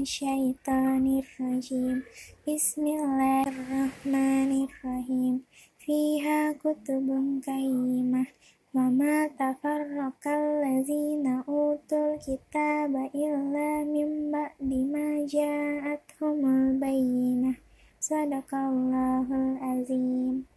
minasyaitonir rajim. Bismillahirrahmanirrahim. Fiha kutubun qayyimah wa ma tafarraqal ladzina utul kitaba illa min ba'di ma ja'atuhumul bayyinah. Sadaqallahul azim.